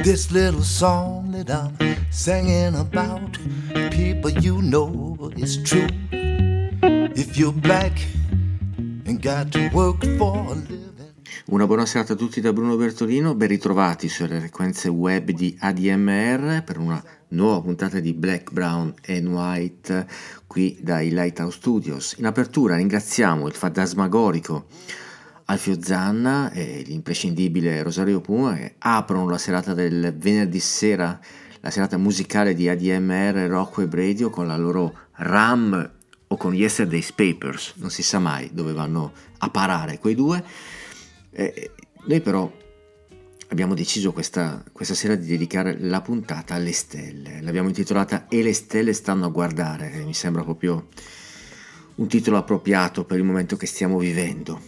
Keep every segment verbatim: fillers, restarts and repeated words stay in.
This little song that I'm singing about, people, you know it's true. If you're black and got to work for a living. Una buona serata a tutti da Bruno Bertolino, ben ritrovati sulle frequenze web di A D M R per una nuova puntata di Black, Brown and White qui dai Lighthouse Studios. In apertura ringraziamo il fantasmagorico Alfio Zanna e l'imprescindibile Rosario Puma che aprono la serata del venerdì sera, la serata musicale di A D M R Rock Web Radio con la loro Ram o con Yesterday's Papers, non si sa mai dove vanno a parare quei due. Eh, noi però abbiamo deciso questa, questa sera di dedicare la puntata alle stelle, l'abbiamo intitolata E le stelle stanno a guardare, che mi sembra proprio un titolo appropriato per il momento che stiamo vivendo.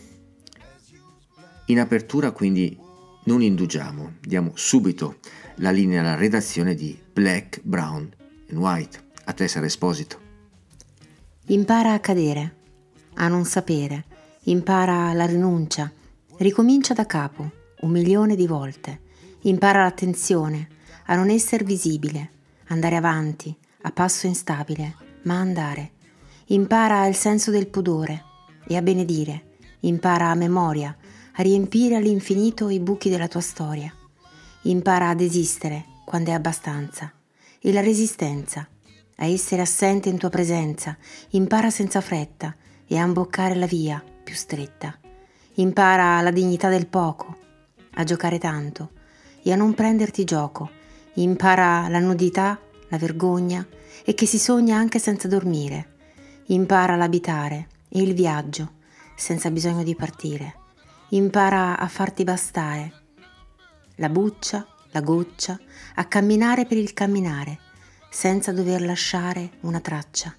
In apertura quindi non indugiamo, diamo subito la linea alla redazione di Black, Brown and White. A te Sara Esposito. Impara a cadere, a non sapere, impara la rinuncia, ricomincia da capo un milione di volte, impara l'attenzione, a non essere visibile, andare avanti, a passo instabile, ma andare. Impara il senso del pudore e a benedire, impara a memoria, a riempire all'infinito i buchi della tua storia. Impara ad esistere quando è abbastanza e la resistenza, a essere assente in tua presenza, impara senza fretta e a imboccare la via più stretta. Impara la dignità del poco, a giocare tanto e a non prenderti gioco. Impara la nudità, la vergogna e che si sogna anche senza dormire. Impara l'abitare e il viaggio senza bisogno di partire. Impara a farti bastare la buccia, la goccia, a camminare per il camminare senza dover lasciare una traccia.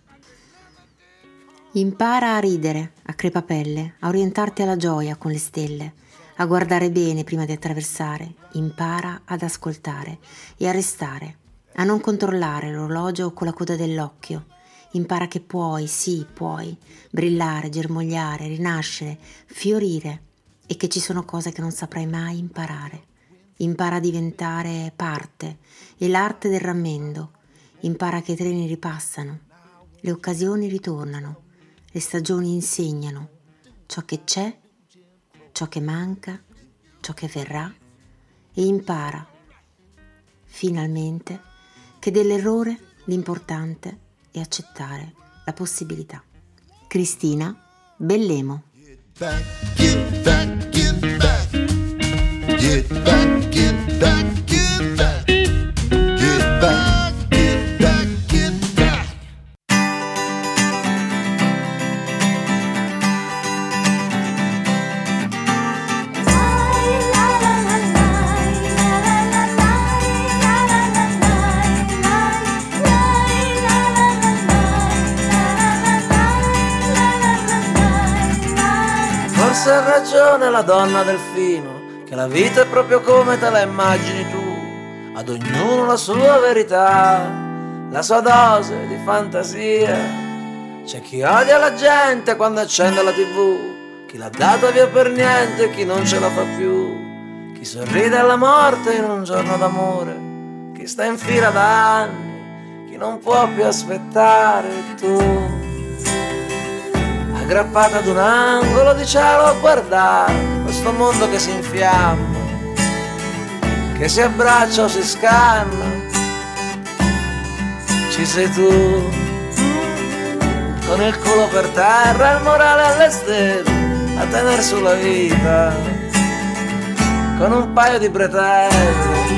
Impara a ridere, a crepapelle, a orientarti alla gioia con le stelle, a guardare bene prima di attraversare. Impara ad ascoltare e a restare, a non controllare l'orologio con la coda dell'occhio. Impara che puoi, sì, puoi, brillare, germogliare, rinascere, fiorire e che ci sono cose che non saprai mai imparare. Impara a diventare parte e l'arte del rammendo. Impara che i treni ripassano, le occasioni ritornano. Le stagioni insegnano ciò che c'è, ciò che manca, ciò che verrà e impara, finalmente, che dell'errore l'importante è accettare la possibilità. Cristina Bellemo. Get back, get back, get back. Get back, get back, get back. Get back, get back, get back. Forse ha ragione la donna delfino, che la vita è proprio come te la immagini tu, ad ognuno la sua verità, la sua dose di fantasia. C'è chi odia la gente quando accende la tivù, chi l'ha data via per niente, chi non ce la fa più, chi sorride alla morte in un giorno d'amore, chi sta in fila da anni, chi non può più aspettare. Tu aggrappata ad un angolo di cielo a guardare questo mondo che si infiamma, che si abbraccia o si scanna. Ci sei tu, con il culo per terra, il morale alle stelle, a tener sulla vita, con un paio di bretelle.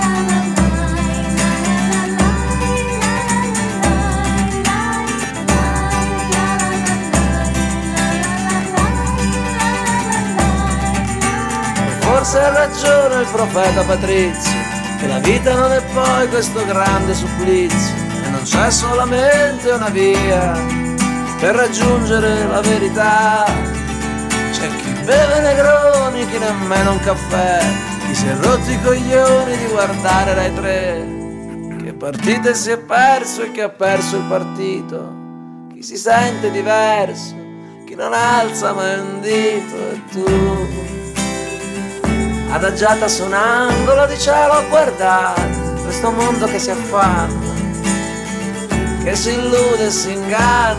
Forse ha ragione il profeta Patrizio, che la vita non è poi questo grande supplizio e non c'è solamente una via per raggiungere la verità. C'è chi beve negroni, chi nemmeno un caffè, chi si è rotto i coglioni di guardare Rai tre, che partite si è perso e chi ha perso il partito, chi si sente diverso, chi non alza mai un dito. E tu adagiata su un angolo di cielo a guardare questo mondo che si affanna, che si illude e si inganna.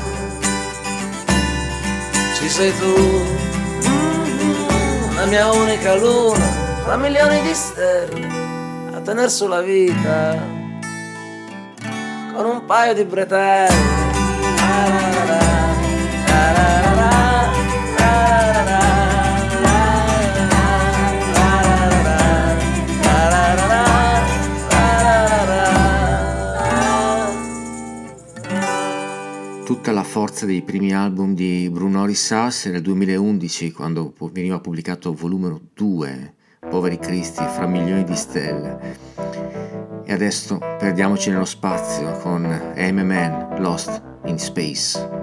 Ci sei tu, la mia unica luna, tra milioni di stelle, a tener sulla vita, con un paio di bretelle. Tutta la forza dei primi album di Bruno Risas nel duemilaundici, quando veniva pubblicato volume due, Poveri Cristi, fra milioni di stelle. E adesso perdiamoci nello spazio con M M N, Lost in Space.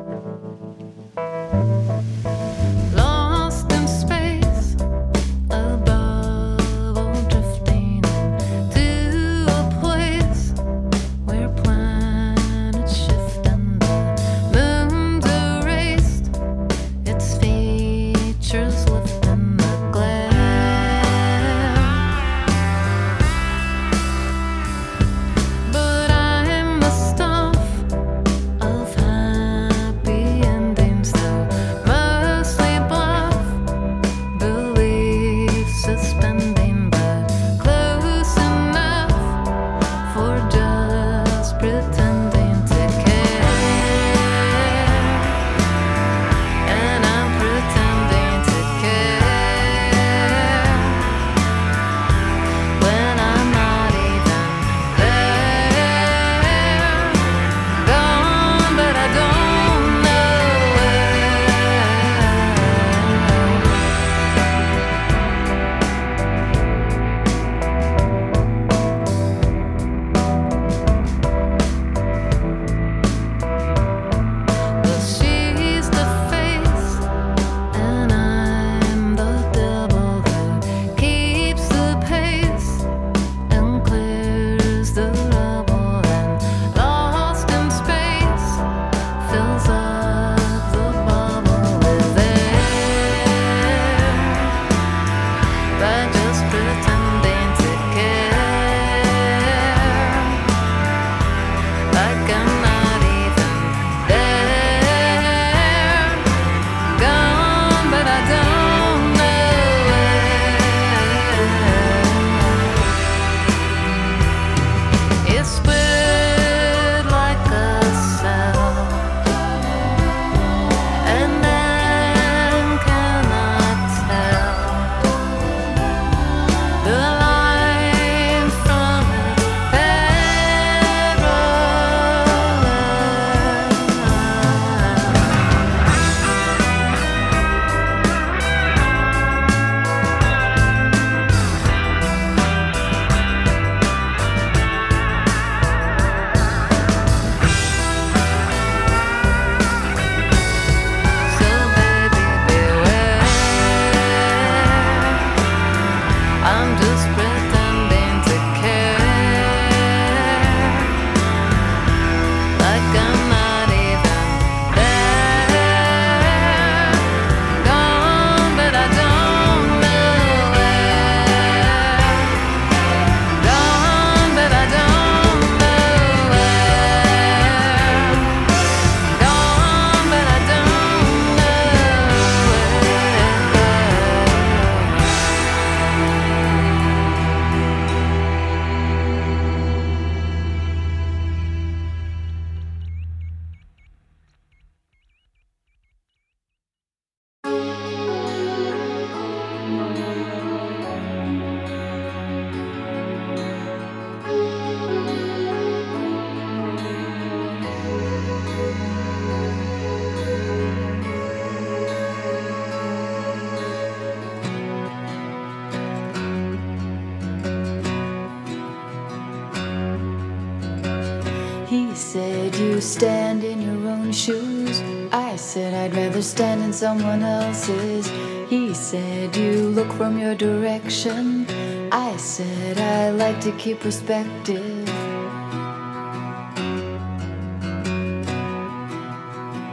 He said you stand in your own shoes. I said I'd rather stand in someone else's. He said you look from your direction. I said I like to keep perspective.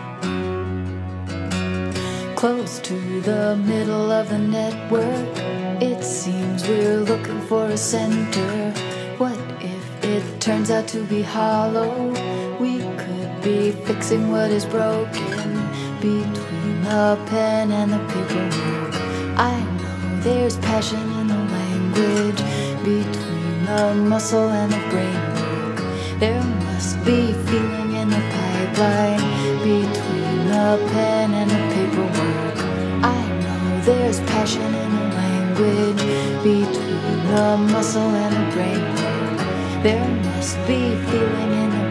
Close to the middle of the network, It seems we're looking for a center. What if it turns out to be hollow? We could be fixing what is broken between the pen and the paperwork. I know there's passion in the language between the muscle and the brain work. There must be feeling in the pipeline between the pen and the paperwork. I know there's passion in the language between the muscle and the brain work. There must be feeling in the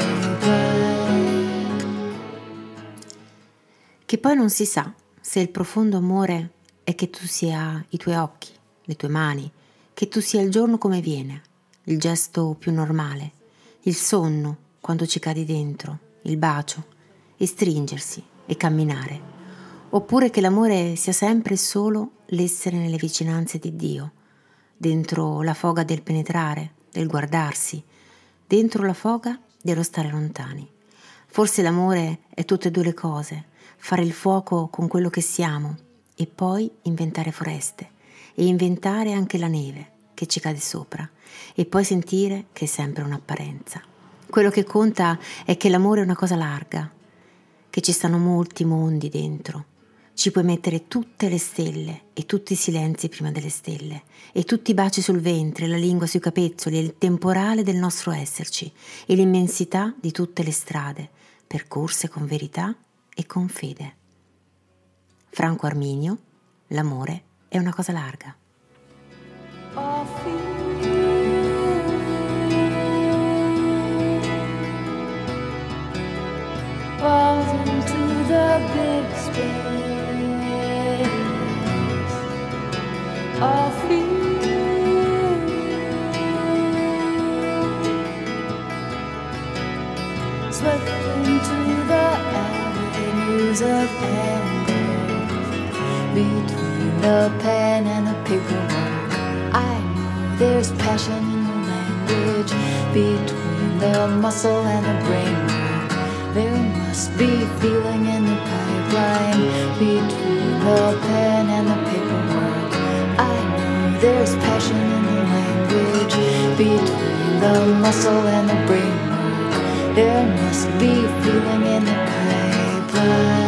pipeline. Che poi non si sa se il profondo amore è che tu sia i tuoi occhi, le tue mani, che tu sia il giorno come viene, il gesto più normale, il sonno quando ci cadi dentro, il bacio, e stringersi e camminare, oppure che l'amore sia sempre e solo l'essere nelle vicinanze di Dio, dentro la foga del penetrare, del guardarsi, dentro la foga dello stare lontani. Forse l'amore è tutte e due le cose, fare il fuoco con quello che siamo e poi inventare foreste e inventare anche la neve che ci cade sopra e poi sentire che è sempre un'apparenza. Quello che conta è che l'amore è una cosa larga, che ci stanno molti mondi dentro. Ci puoi mettere tutte le stelle e tutti i silenzi prima delle stelle e tutti i baci sul ventre, la lingua sui capezzoli e il temporale del nostro esserci e l'immensità di tutte le strade, percorse con verità e con fede. Franco Arminio, l'amore è una cosa larga. Falls into the big space of fear. Slip into the avenues of anger between the pen and the paperwork. I know there's passion in the language between the muscle and the brain. There must be feeling in the pipeline between the pen and the paperwork. I know there's passion in the language between the muscle and the brain work. There must be feeling in the pipeline.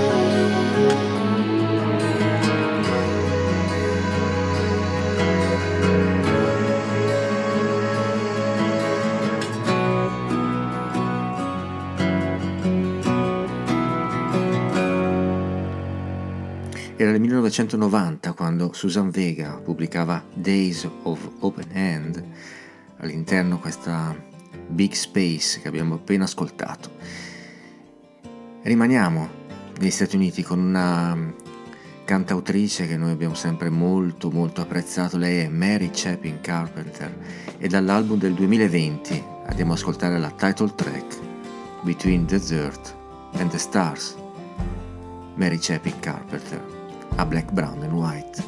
Era nel millenovecentonovanta quando Suzanne Vega pubblicava Days of Open Hand, all'interno questa Big Space che abbiamo appena ascoltato. Rimaniamo negli Stati Uniti con una cantautrice che noi abbiamo sempre molto molto apprezzato, lei è Mary Chapin Carpenter e dall'album del duemilaventi andiamo ad ascoltare la title track Between the Dirt and the Stars. Mary Chapin Carpenter a Black, Brown and White.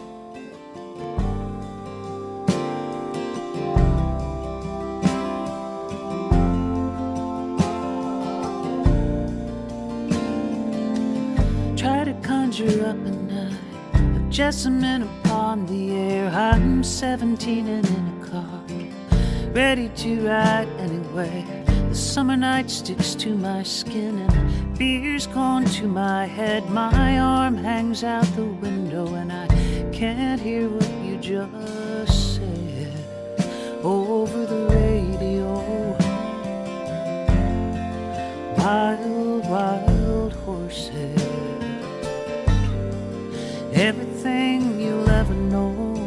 Try to conjure up a night of jessamine upon the air. I'm seventeen and in a car, ready to ride anywhere. The summer night sticks to my skin and beer's gone to my head. My arm hangs out the window and I can't hear what you just said over the radio. Wild, wild horses, everything you'll ever know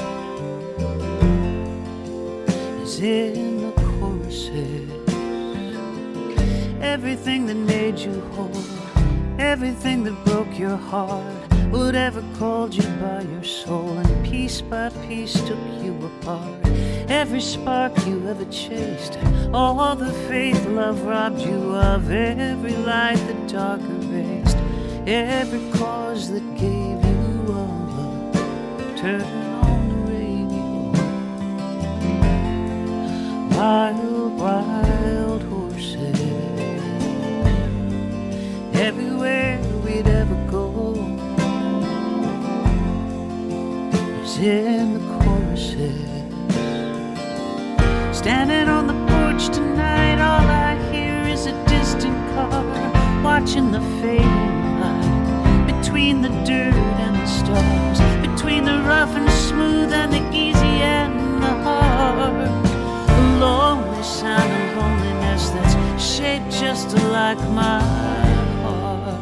is in the choruses. Everything that made you whole, everything that broke your heart, whatever called you by your soul, and piece by piece took you apart. Every spark you ever chased, all the faith love robbed you of, every light the dark erased, every cause that gave you all love. Turn on the radio. Wild, wild horses, everywhere we'd ever go is in the choruses. Standing on the porch tonight, all I hear is a distant car, watching the fading light between the dirt and the stars, between the rough and smooth and the easy and the hard. A lonely sound of loneliness that's shaped just like my heart.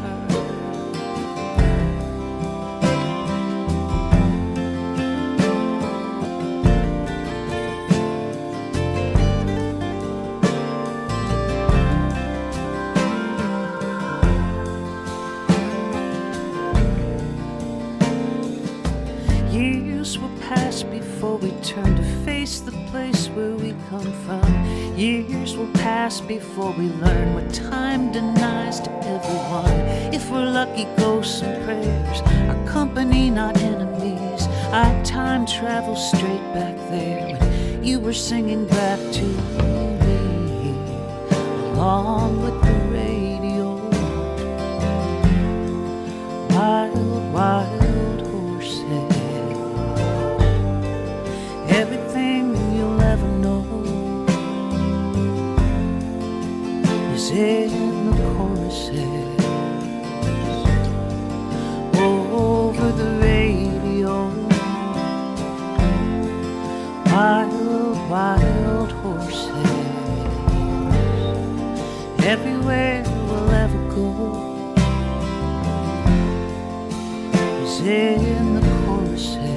Years will pass before we turn to face the place where we come from. Years will pass before we learn what time denies to everyone. If we're lucky, ghosts and prayers, our company, not enemies. I time travel straight back there when you were singing back to me, along with the radio. Wild, wild horses. Everything you'll ever know is in the choruses over the radio. Wild, wild horses. Everywhere we'll ever go is in the choruses.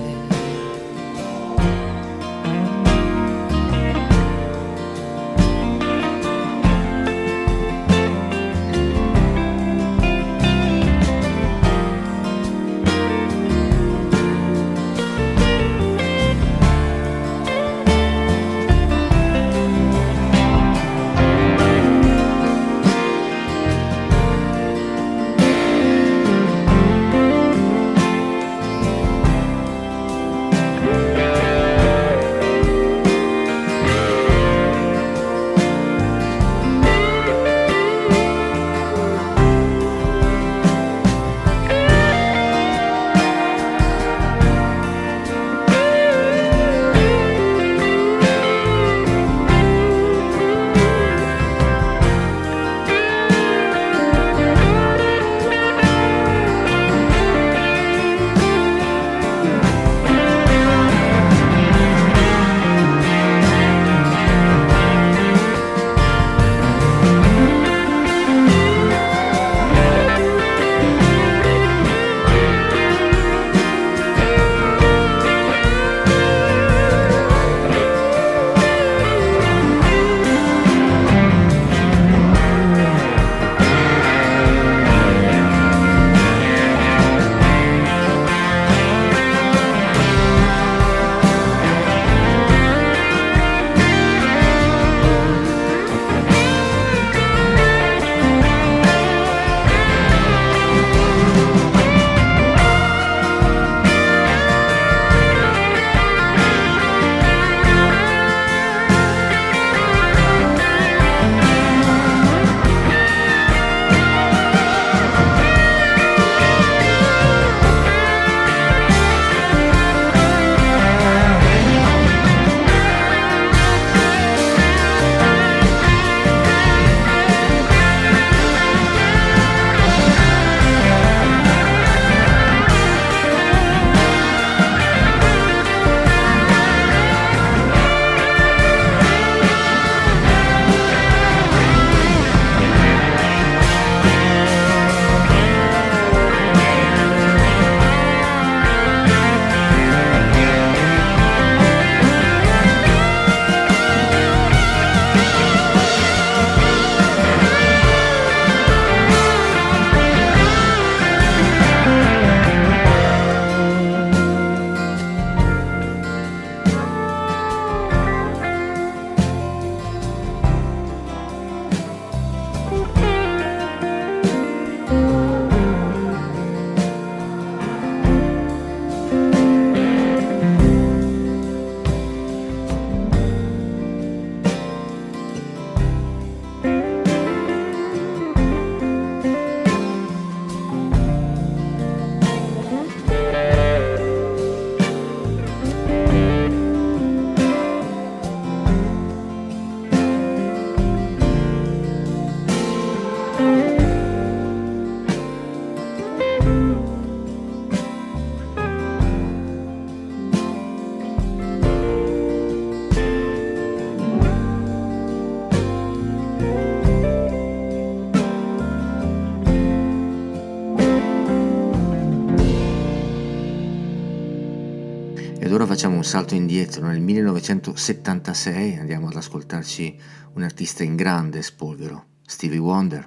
Ed ora facciamo un salto indietro nel millenovecentosettantasei, andiamo ad ascoltarci un artista in grande spolvero, Stevie Wonder.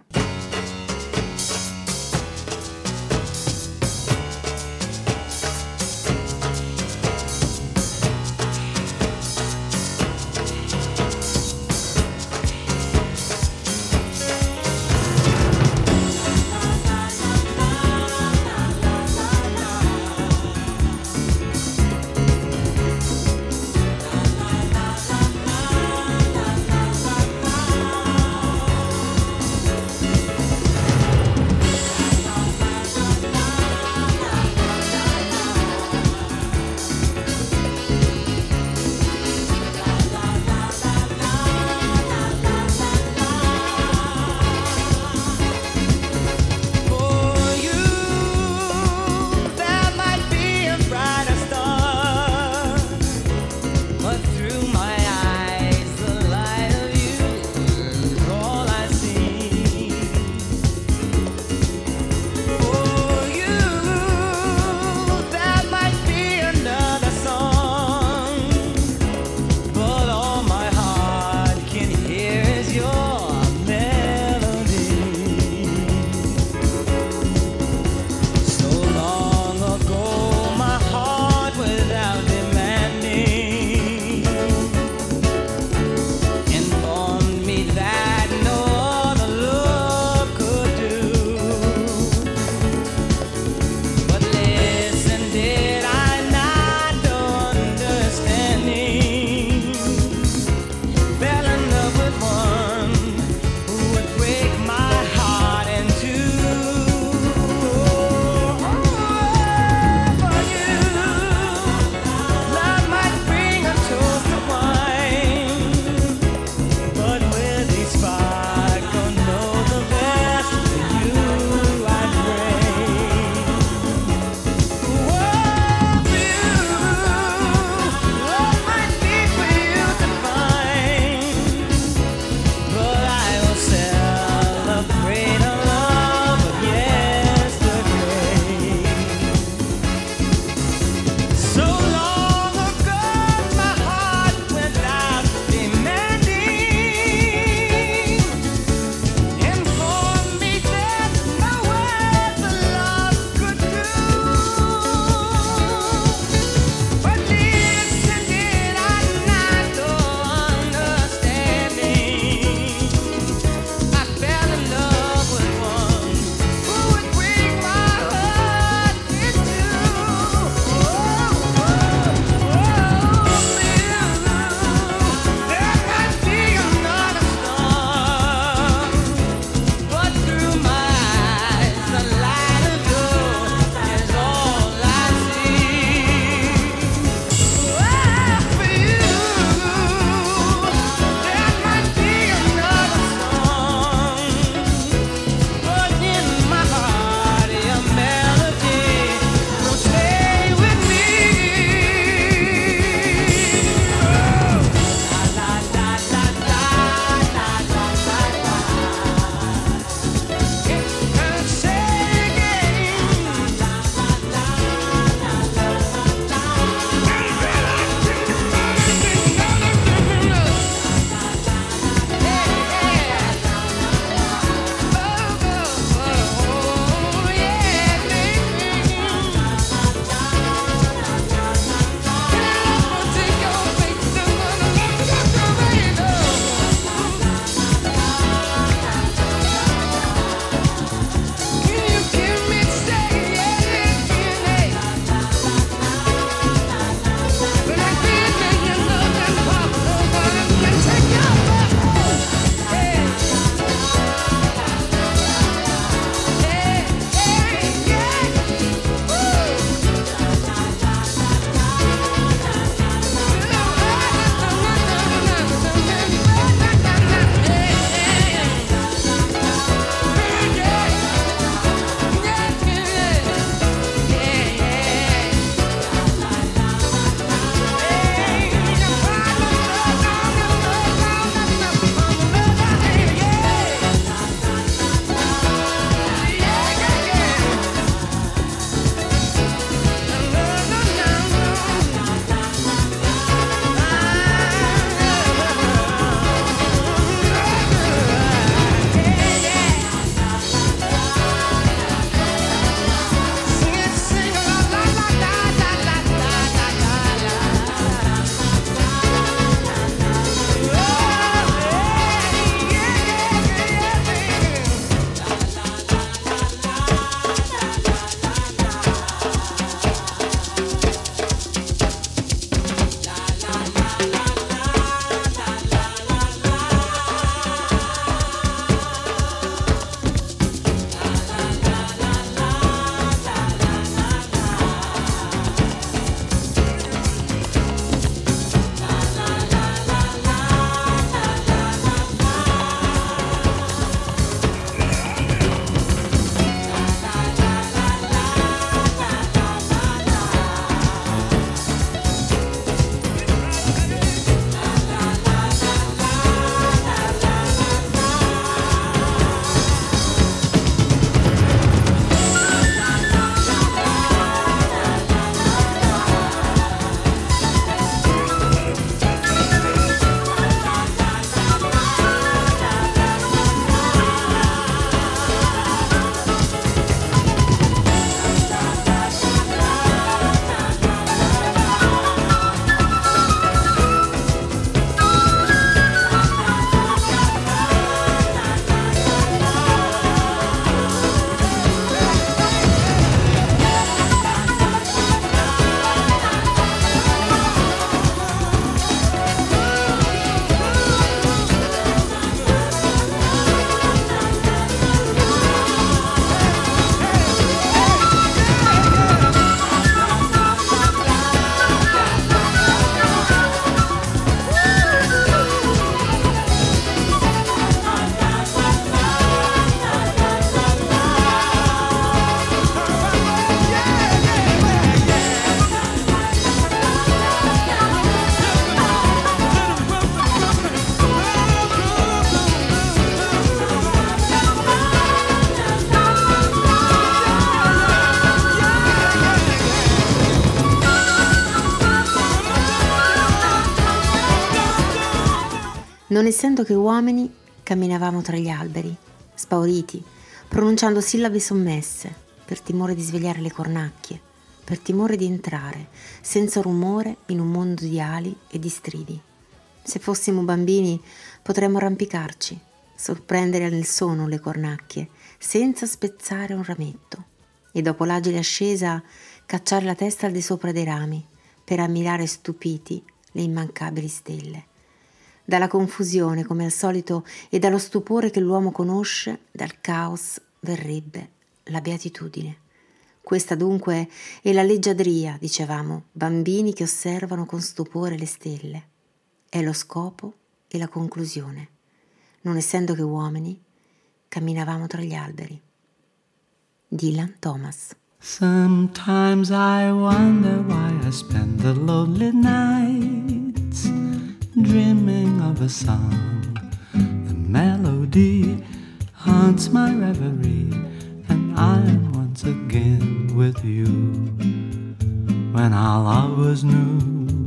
Non essendo che uomini, camminavamo tra gli alberi, spauriti, pronunciando sillabe sommesse, per timore di svegliare le cornacchie, per timore di entrare, senza rumore, in un mondo di ali e di stridi. Se fossimo bambini, potremmo arrampicarci, sorprendere nel sonno le cornacchie, senza spezzare un rametto, e dopo l'agile ascesa cacciare la testa al di sopra dei rami, per ammirare stupiti le immancabili stelle. Dalla confusione, come al solito, e dallo stupore che l'uomo conosce, dal caos verrebbe la beatitudine. Questa dunque è la leggiadria, dicevamo, bambini che osservano con stupore le stelle. È lo scopo e la conclusione. Non essendo che uomini, camminavamo tra gli alberi. Dylan Thomas. Sometimes I wonder why I spend the lonely nights dreaming of a song. The melody haunts my reverie, and I'm once again with you. When our love was new,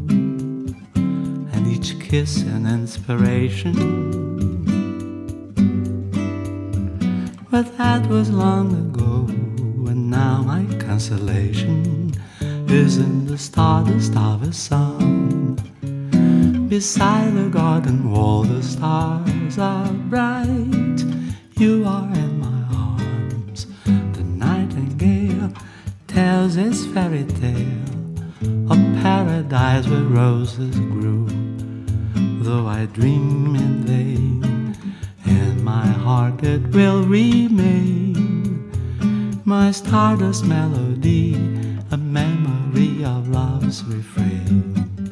and each kiss an inspiration. But that was long ago, and now my consolation is in the stardust of a song. Beside the garden wall the stars are bright. You are in my arms. The nightingale tells its fairy tale of paradise where roses grew. Though I dream in vain, in my heart it will remain. My stardust melody, a memory of love's refrain.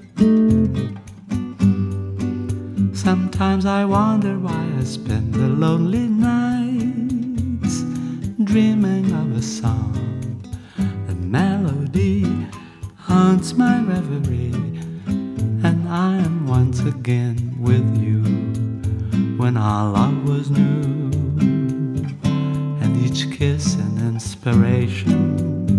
Sometimes I wonder why I spend the lonely nights dreaming of a song. The melody haunts my reverie, and I am once again with you. When our love was new, and each kiss an inspiration.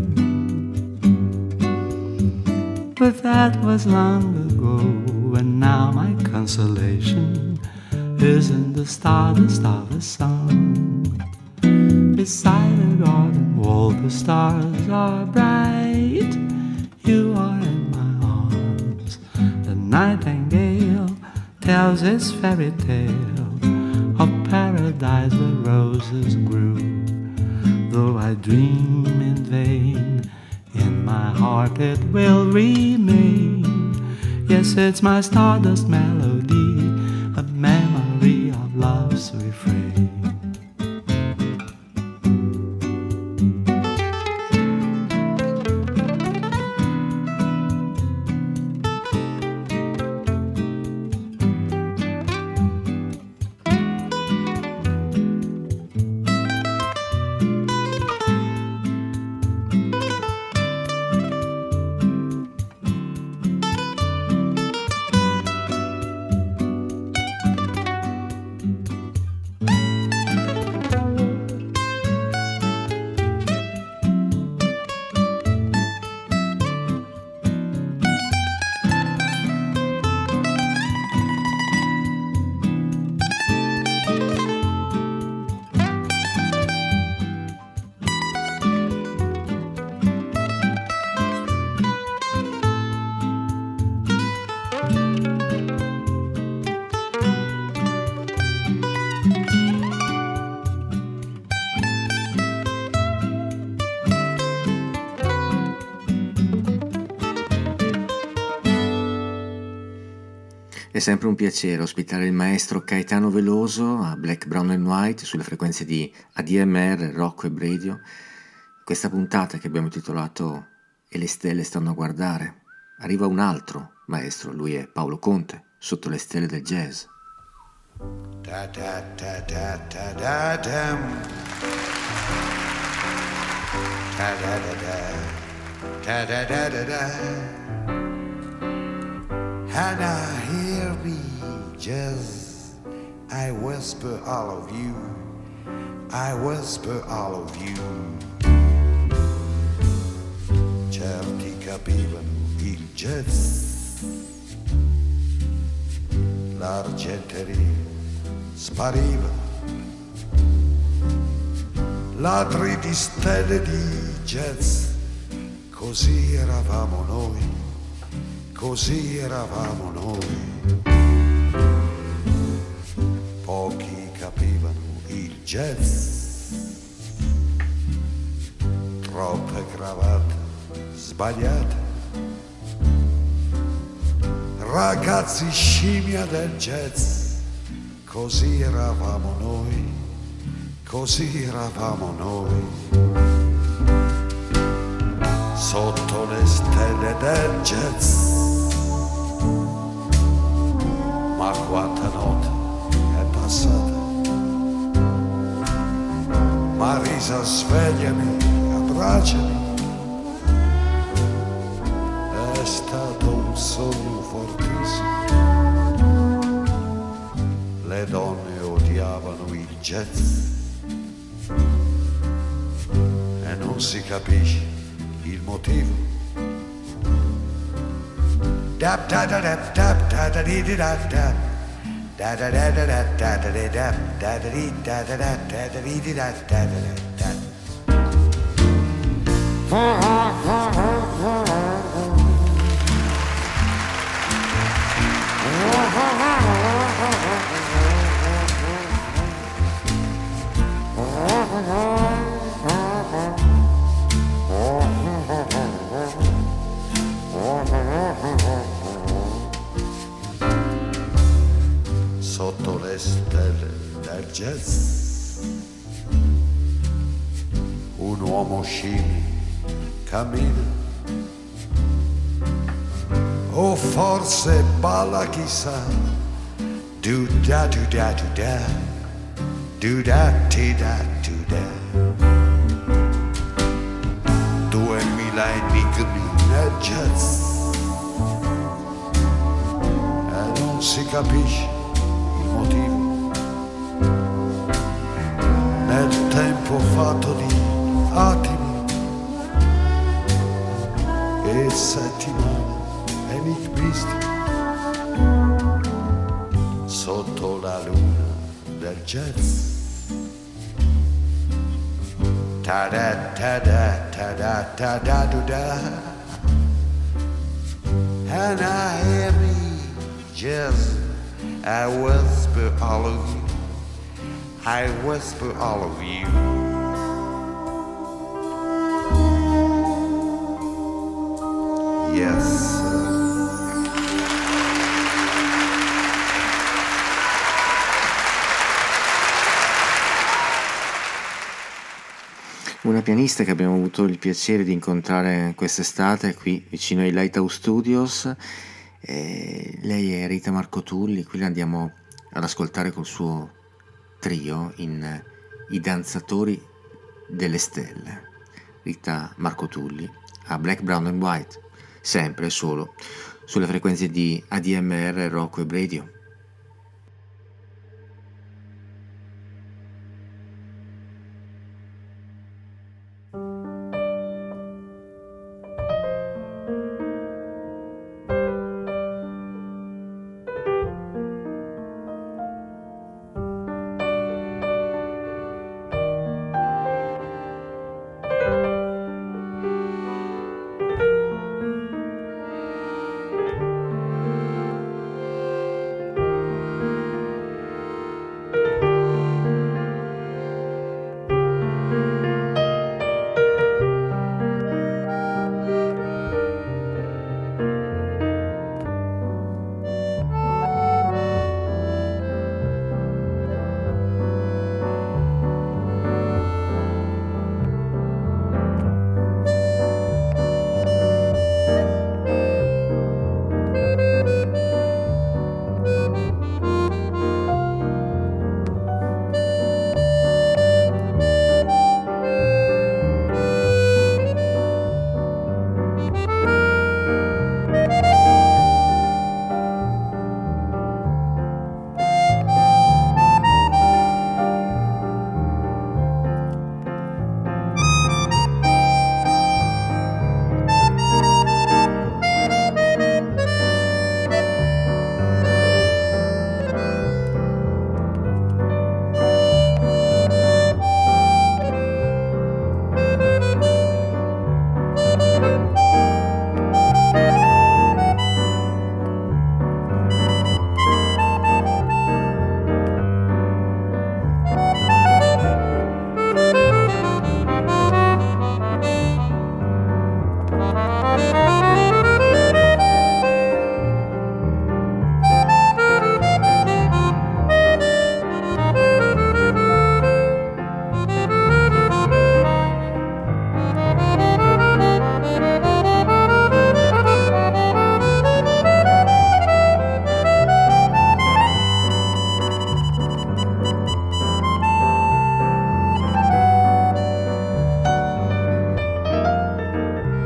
But that was long ago, and now my consolation is in the stardust of a song. Beside the garden wall the stars are bright. You are in my arms. The nightingale tells its fairy tale of paradise where roses grew. Though I dream in vain, in my heart it will remain. Yes, it's my stardust melody, a memory of love's refrain. È sempre un piacere ospitare il maestro Caetano Veloso a Black, Brown and White sulle frequenze di A D M R, Rocco e Radio. Questa puntata che abbiamo intitolato E le stelle stanno a guardare. Arriva un altro maestro, lui è Paolo Conte, sotto le stelle del jazz. Da da da da da da dam. Da da da da da da da da da. And I hear me just, I whisper all of you, I whisper all of you. Certi capivano il jazz, l'argenteria spariva, ladri di stelle di jazz, così eravamo noi, così eravamo noi. Pochi capivano il jazz, troppe cravatte sbagliate, ragazzi scimmia del jazz, così eravamo noi, così eravamo noi. Sotto le stelle del jazz, ma quanta notte è passata. Marisa, svegliami, abbracciami, è stato un sogno fortissimo. Le donne odiavano il jazz e non si capisce il motivo. Dap da da dap dap da da di di da da da da da da da da da da da da da di da da da da da di di da da da da. Sotto le stelle del jazz, un uomo scimmia cammina, o forse balla, chissà, do da do da do da, do da ti da do da. Duemila enigmi nel jazz e non si capisce il motivo. Nel tempo fatto di attimi e settimane enigmistiche, sotto la luna del jazz. Ta da ta da ta da ta da do da, and I hear me jazz. I whisper all of you, I whisper all of you. Yes. Una pianista che abbiamo avuto il piacere di incontrare quest'estate qui vicino ai Lighthouse Studios. E lei è Rita Marcotulli, qui la andiamo ad ascoltare col suo trio in I danzatori delle stelle. Rita Marcotulli a Black, Brown and White, sempre e solo sulle frequenze di A D M R Rock Web Radio.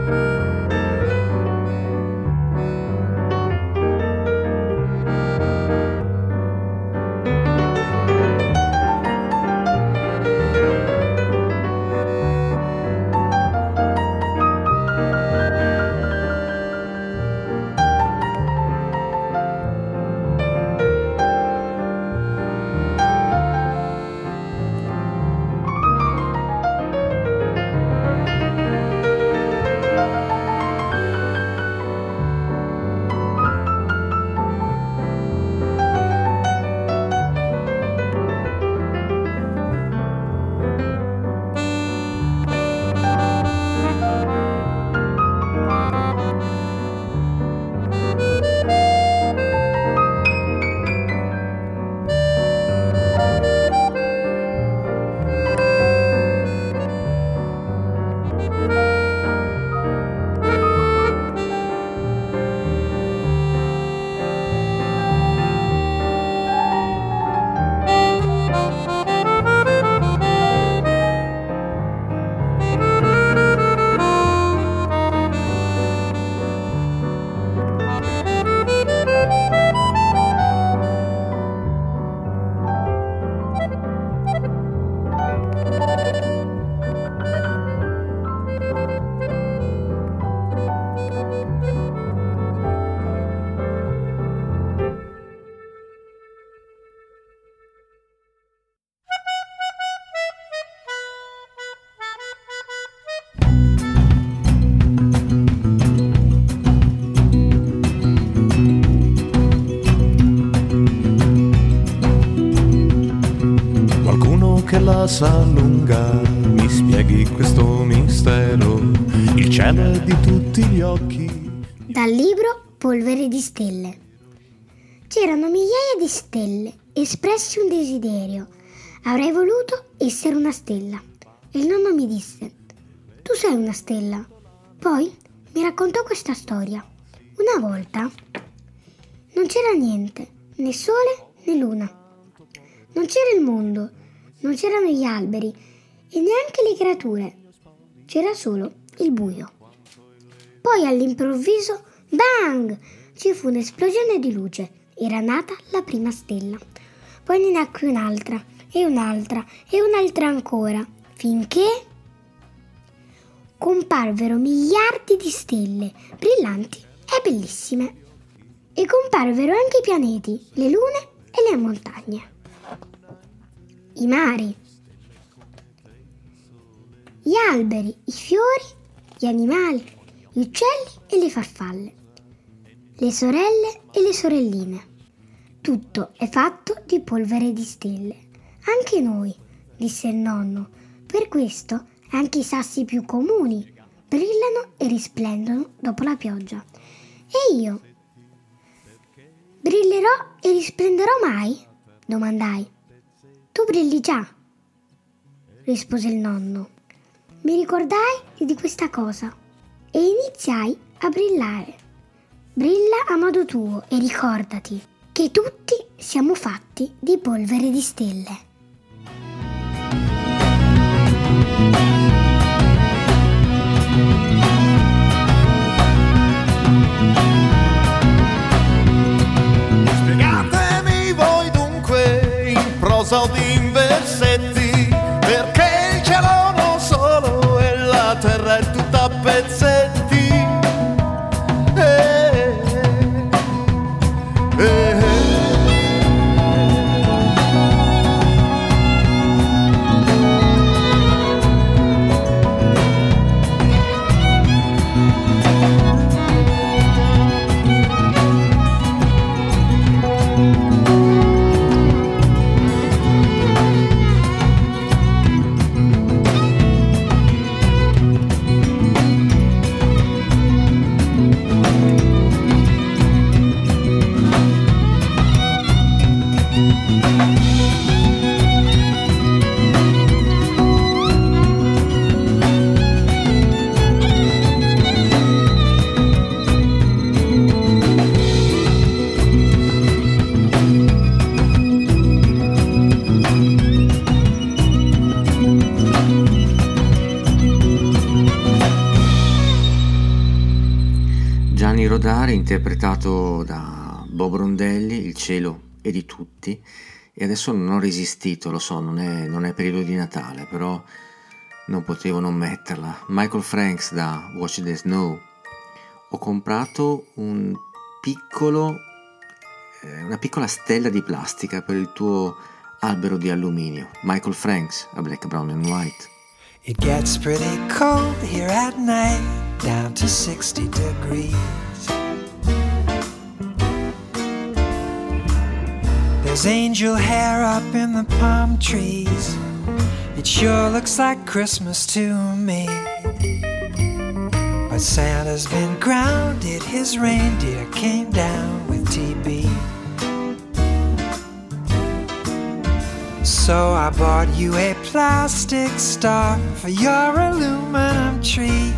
che la sa lunga, mi spieghi questo mistero, il cielo è di tutti gli occhi. Dal libro Polvere di stelle. C'erano migliaia di stelle, espressi un desiderio. Avrei voluto essere una stella. E il nonno mi disse: tu sei una stella. Poi mi raccontò questa storia. Una volta non c'era niente, né sole né luna. Non c'era il mondo, non c'erano gli alberi e neanche le creature. C'era solo il buio. Poi all'improvviso, bang! Ci fu un'esplosione di luce. Era nata la prima stella. Poi ne nacque un'altra, e un'altra, e un'altra ancora, finché comparvero miliardi di stelle, brillanti e bellissime. E comparvero anche i pianeti, le lune e le montagne, i mari, gli alberi, i fiori, gli animali, gli uccelli e le farfalle, le sorelle e le sorelline. Tutto è fatto di polvere di stelle. Anche noi, disse il nonno. Per questo anche i sassi più comuni brillano e risplendono dopo la pioggia. E io? Brillerò e risplenderò mai? Domandai. Tu brilli già, rispose il nonno. Mi ricordai di questa cosa e iniziai a brillare. Brilla a modo tuo e ricordati che tutti siamo fatti di polvere di stelle. Spiegatemi voi dunque in prosa o in versetti, perché il cielo non solo e la terra è tutta a pezzetti. Eh, eh, eh. Giovanni Rodari, interpretato da Bob Rondelli, Il cielo è di tutti, e adesso non ho resistito, lo so, non è, non è periodo di Natale, però non potevo non metterla. Michael Franks da Watch the Snow. Ho comprato un piccolo, eh, una piccola stella di plastica per il tuo albero di alluminio. Michael Franks a Black, Brown and White. It gets pretty cold here at night, down to sixty degrees. There's angel hair up in the palm trees. It sure looks like Christmas to me. But Santa's been grounded, his reindeer came down with T B. So I bought you a plastic star for your aluminum tree.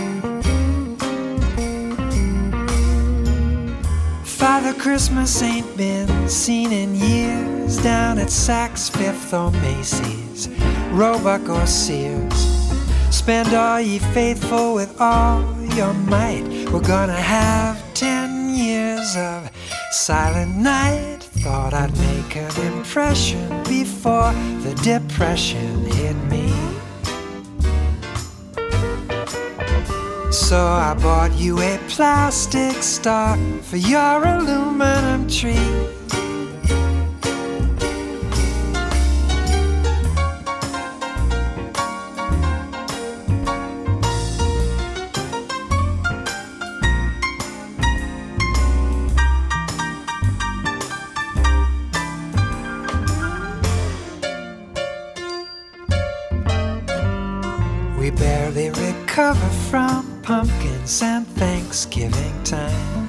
Father Christmas ain't been seen in years down at Saks Fifth or Macy's, Roebuck or Sears. Spend all ye faithful with all your might. We're gonna have ten years of silent night. Thought I'd make an impression before the depression hit me. So I bought you a plastic star for your aluminum tree. We barely recover from pumpkins and Thanksgiving time,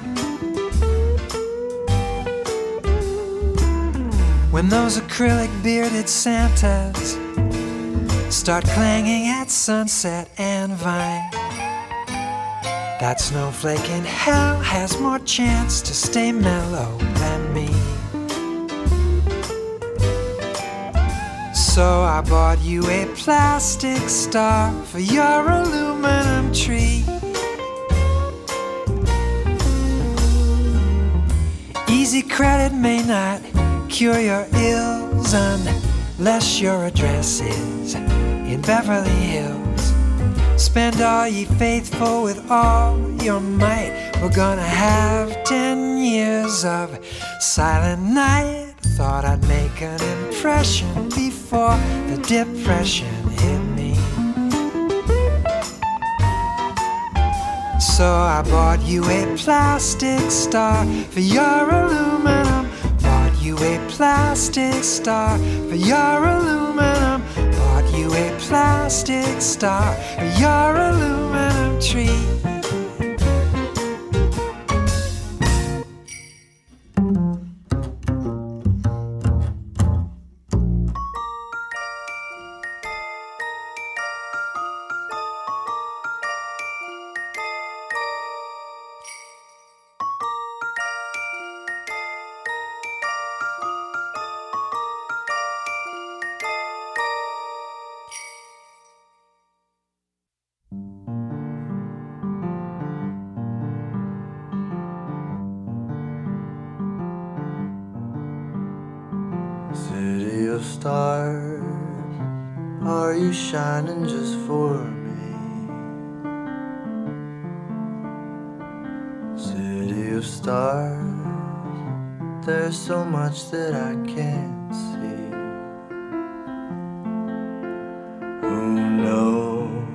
when those acrylic bearded Santas start clanging at Sunset and Vine. That snowflake in hell has more chance to stay mellow than me. So I bought you a plastic star for your aluminum tree. Easy credit may not cure your ills unless your address is in Beverly Hills. Spend all ye faithful with all your might. We're gonna have ten years of silent night. Thought I'd make an impression before the depression hit me. So I bought you a plastic star for your aluminum. Bought you a plastic star for your aluminum. Bought you a plastic star for your aluminum tree. City of stars, are you shining just for me? City of stars, there's so much that I can't see. Who knows?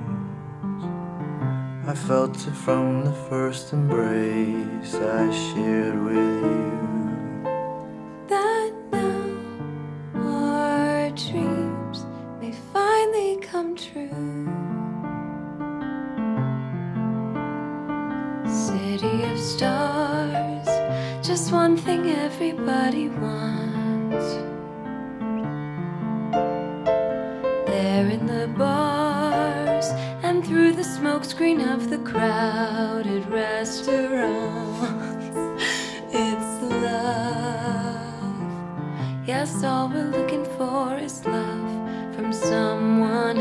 I felt it from the first embrace I shared with you. That now our dreams may finally come true. City of stars, just one thing everybody wants. There in the bars and through the smokescreen of the crowded restaurants, it's love. Yes, all we're looking for is love from someone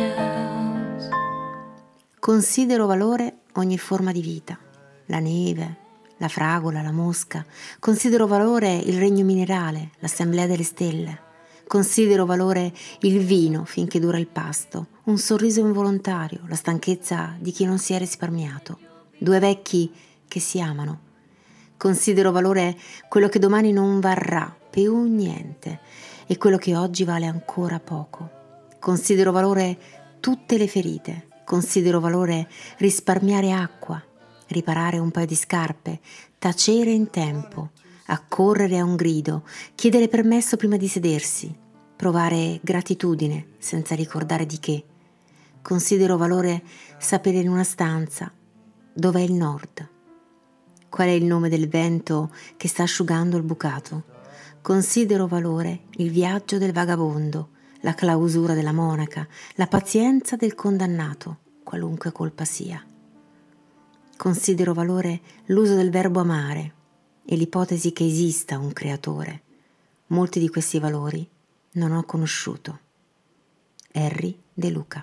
else. Considero valore ogni forma di vita, la neve, la fragola, la mosca. Considero valore il regno minerale, l'assemblea delle stelle. Considero valore il vino finché dura il pasto, un sorriso involontario, la stanchezza di chi non si è risparmiato, due vecchi che si amano. Considero valore quello che domani non varrà più niente e quello che oggi vale ancora poco. Considero valore tutte le ferite. Considero valore risparmiare acqua, riparare un paio di scarpe, tacere in tempo, accorrere a un grido, chiedere permesso prima di sedersi, provare gratitudine senza ricordare di che. Considero valore sapere in una stanza dov'è il nord, qual è il nome del vento che sta asciugando il bucato. Considero valore il viaggio del vagabondo, la clausura della monaca, la pazienza del condannato, qualunque colpa sia. Considero valore l'uso del verbo amare e l'ipotesi che esista un creatore. Molti di questi valori non ho conosciuto. Harry De Luca.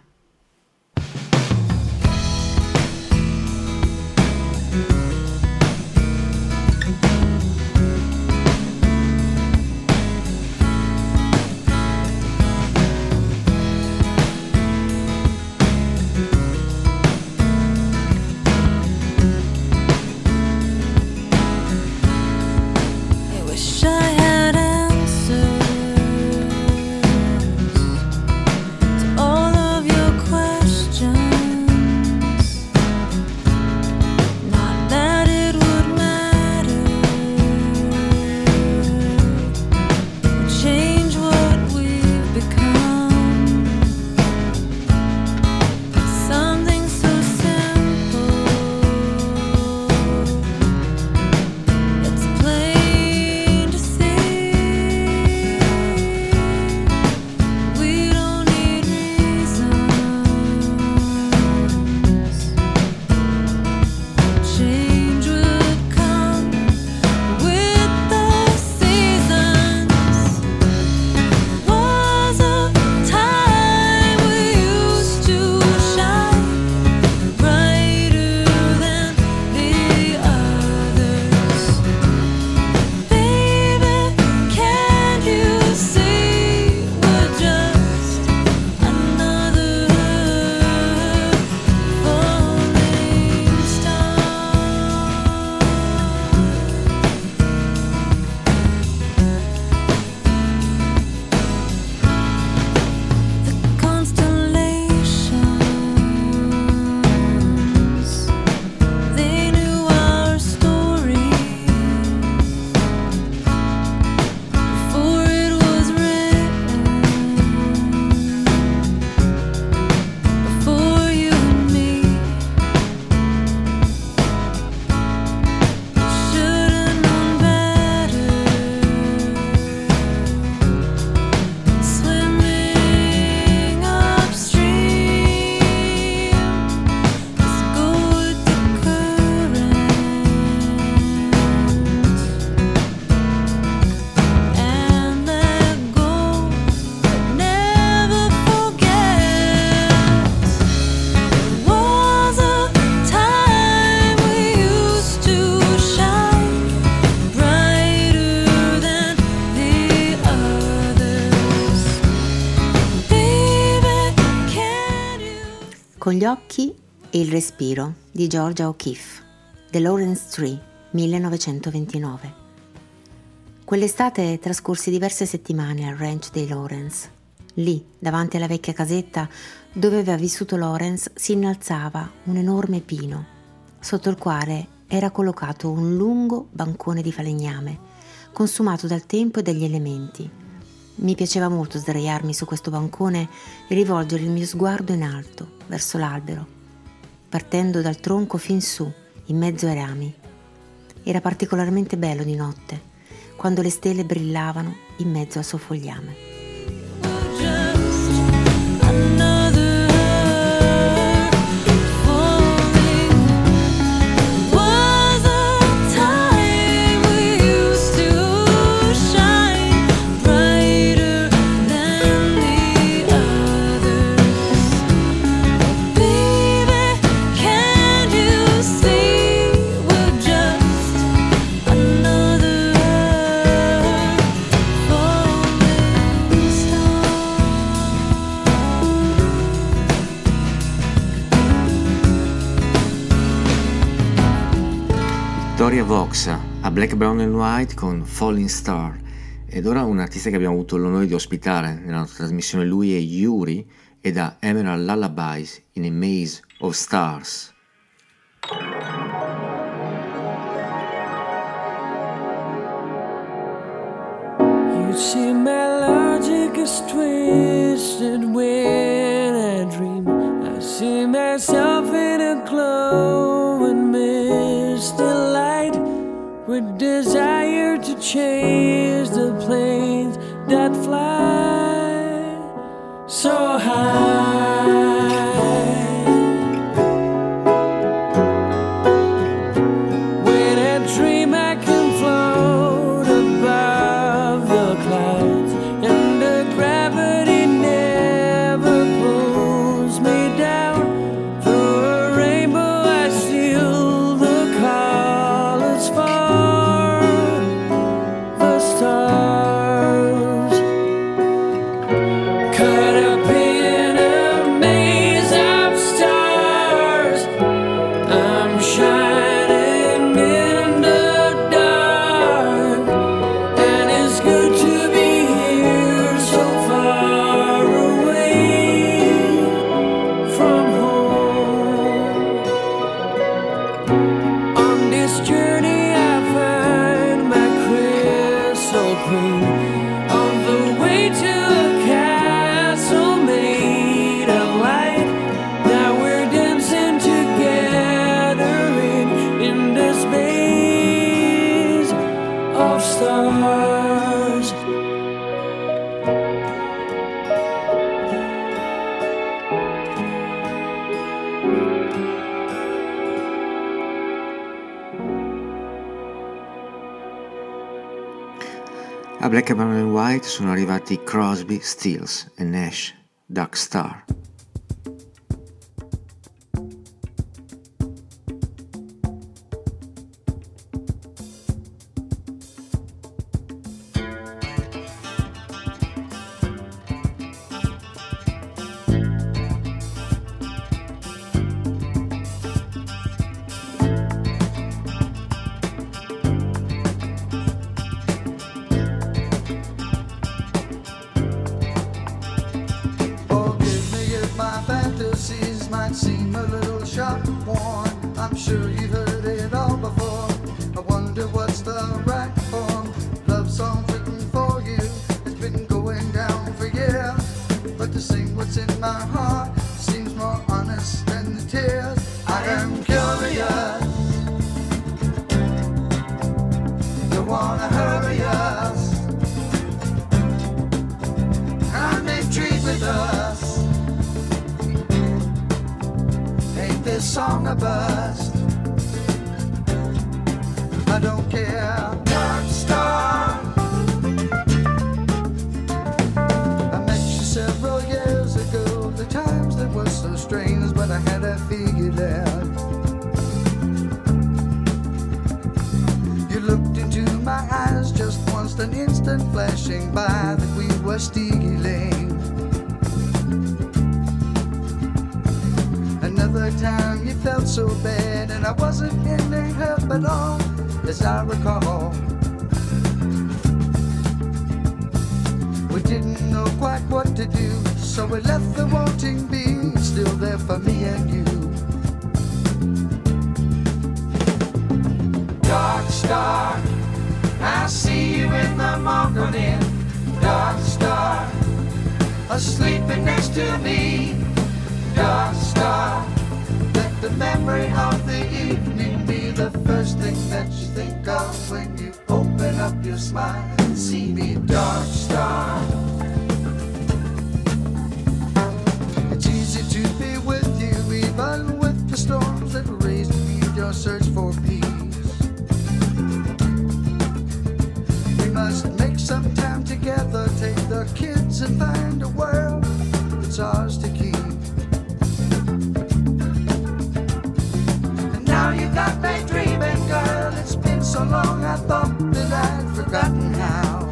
Con gli occhi e il respiro di Georgia O'Keeffe, The Lawrence Tree, millenovecentoventinove. Quell'estate trascorsi diverse settimane al ranch dei Lawrence. Lì, davanti alla vecchia casetta dove aveva vissuto Lawrence, si innalzava un enorme pino, sotto il quale era collocato un lungo bancone di falegname, consumato dal tempo e dagli elementi. Mi piaceva molto sdraiarmi su questo bancone e rivolgere il mio sguardo in alto, verso l'albero, partendo dal tronco fin su, in mezzo ai rami. Era particolarmente bello di notte, quando le stelle brillavano in mezzo al suo fogliame. Victoria Voxa a Black, Brown and White con Falling Star. Ed ora un artista che abbiamo avuto l'onore di ospitare nella nostra trasmissione, lui è Yuri, e da Emerald Lullabies in a Maze of Stars. You see, my logic is twisted when I dream. I see myself in a glowing misty light, with desire to chase the planes that fly so high. When I dream I can float above the clouds, and the gravity never pulls me down. Through a rainbow I steal the colors for the stars. Caught up in a maze of stars, I'm shining in the dark, and it's good to be here so far away from home. On this journey I find my crystal queen, on the way to a castle made of light. Now we're dancing together in, in the space of stars. A Black, Brown and White sono arrivati Crosby, Stills e Nash, Dark Star. Forgive me if my fantasies might seem a little sharp and worn. I'm sure you've heard it all before. I wonder what's the right form. Love songs written for you. It's been going down for years. But to sing what's in my heart seems more honest than the tears. I am curious. You wanna hurry us? I'm intrigued with us. Ain't this song a bust? I don't care. Dark Star. I met you several years ago. The times that were so strange, but I had it figured out. You looked into my eyes just once, an instant flashing by that we were stealing. Another time you felt so bad, and I wasn't in any help at all, as I recall. We didn't know quite what to do, so we left the wanting be still there for me and you. Dark Star, I see you in the morning. Dark Star, asleep next to me. Dark Star, let the memory of the evening be the first thing that you think of when you open up your smile and see me. Dark Star, it's easy to be with you even with the storms that raise your search for peace. We must make some time together, take the kids and find a world that's ours to keep. Now you got me dreaming, girl. It's been so long I thought that I'd forgotten how.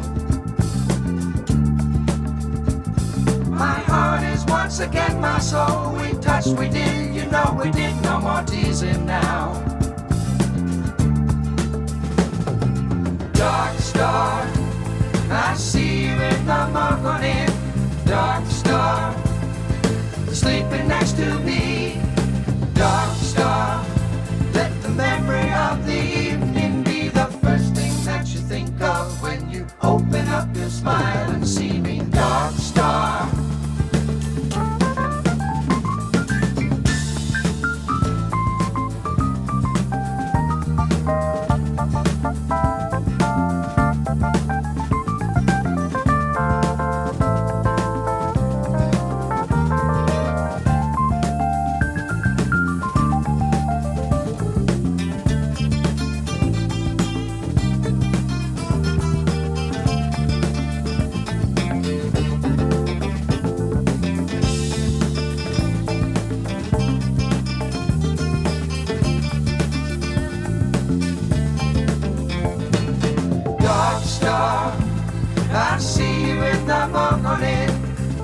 My heart is once again my soul. We touched, we did, you know we did. No more teasing now.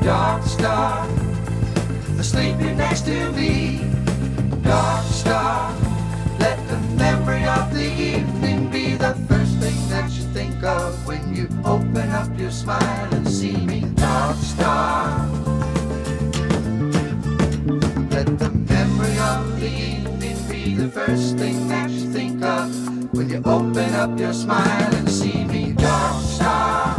dark star, sleeping next to me. Dark star, let the memory of the evening be the first thing that you think of when you open up your smile and see me. Dark star, let the memory of the evening be the first thing that you think of when you open up your smile and see me. Dark star.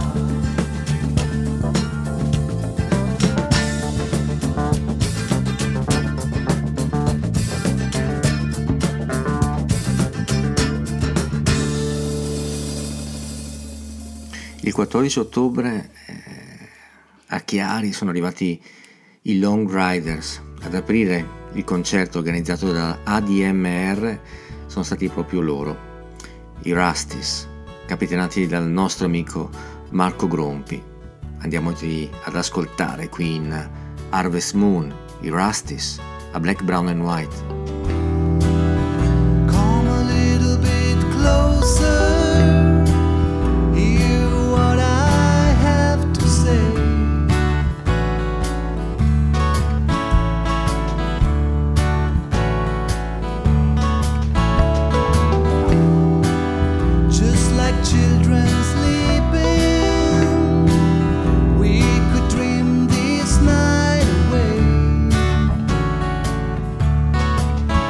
Il quattordici ottobre eh, a Chiari sono arrivati i Long Riders. Ad aprire il concerto organizzato da A D M R sono stati proprio loro, i Rusties, capitanati dal nostro amico Marco Grompi. Andiamoci ad ascoltare qui in Harvest Moon, i Rusties, a Black, Brown and White. Come a little bit closer. Dream this night away.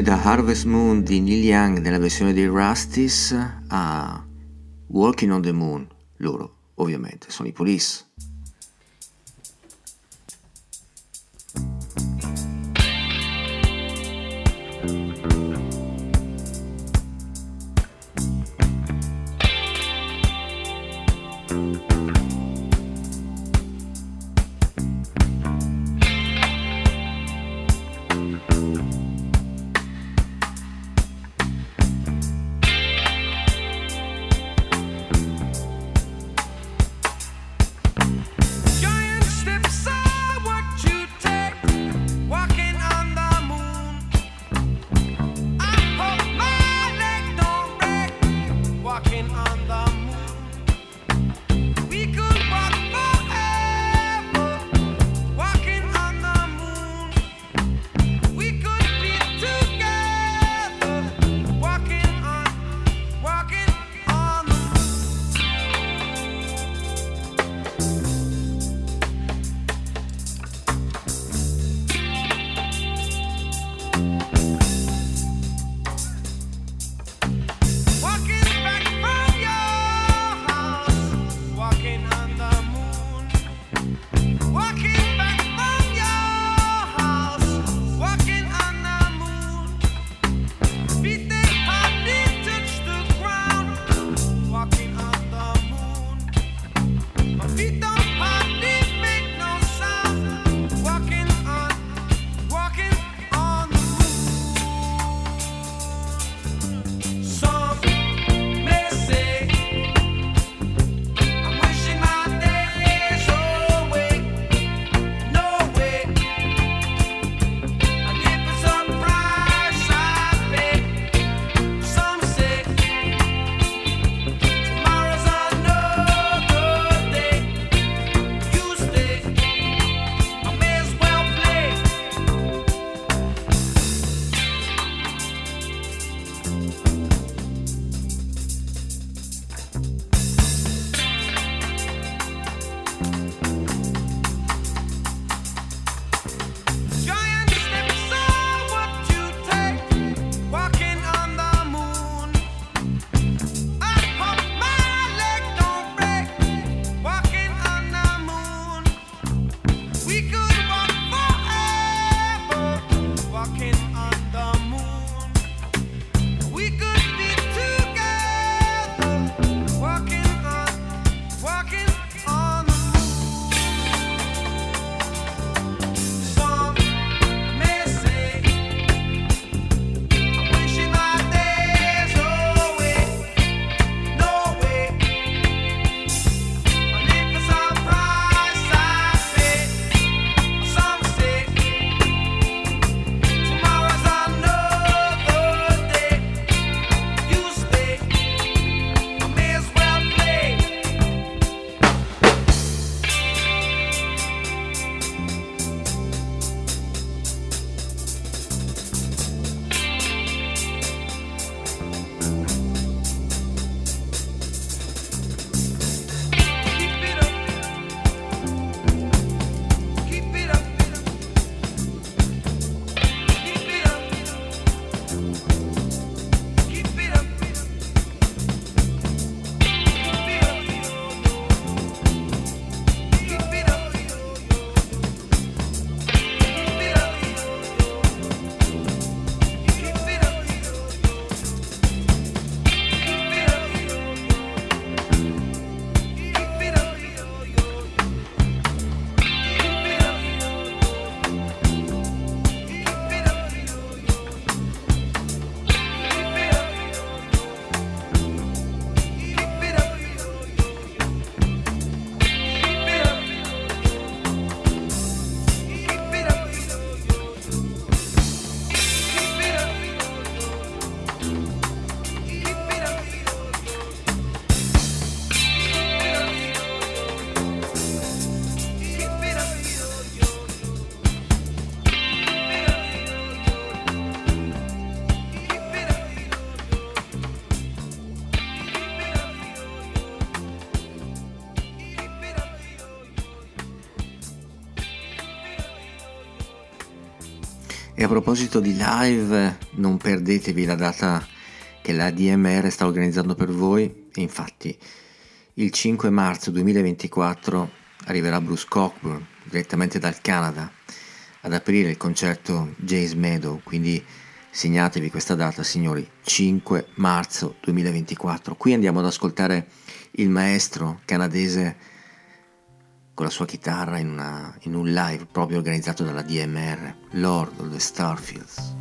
da Harvest Moon di Neil Young nella versione dei Rusties a Walking on the Moon. Loro ovviamente sono i Police. E a proposito di live, non perdetevi la data che l'A D M R sta organizzando per voi. E infatti il cinque marzo duemilaventiquattro arriverà Bruce Cockburn direttamente dal Canada ad aprire il concerto Jazz Meadow, quindi segnatevi questa data, signori, cinque marzo duemilaventiquattro. Qui andiamo ad ascoltare il maestro canadese con la sua chitarra in, una, in un live proprio organizzato dalla D M R, Lord of the Starfields.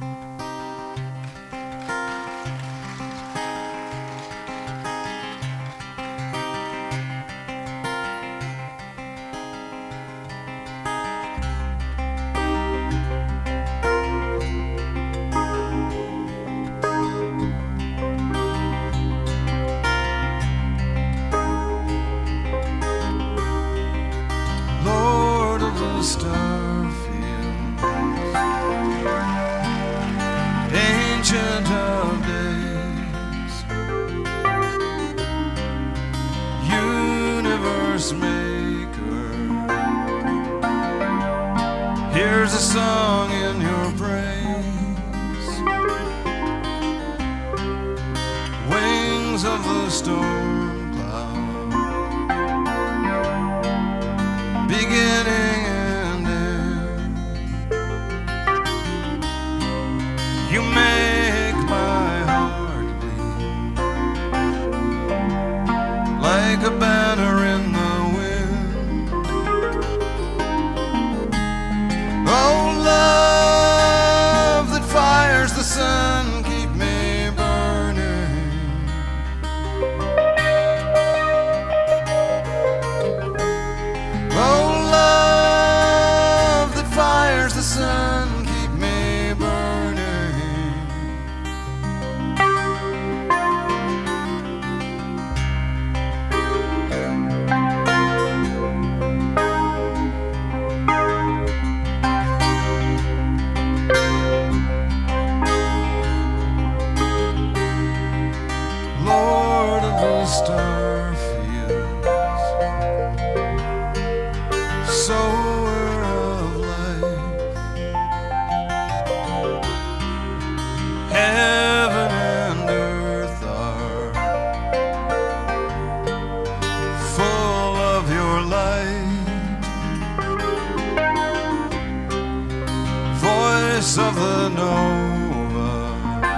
Here's a song in your praise, wings of the storm cloud, beginning and end. You make my heart bleed like a banner in the the sun, keep me burning. Oh, love that fires the sun, keep me burning. Starfields, sower of life, heaven and earth are full of your light, voice of the nova,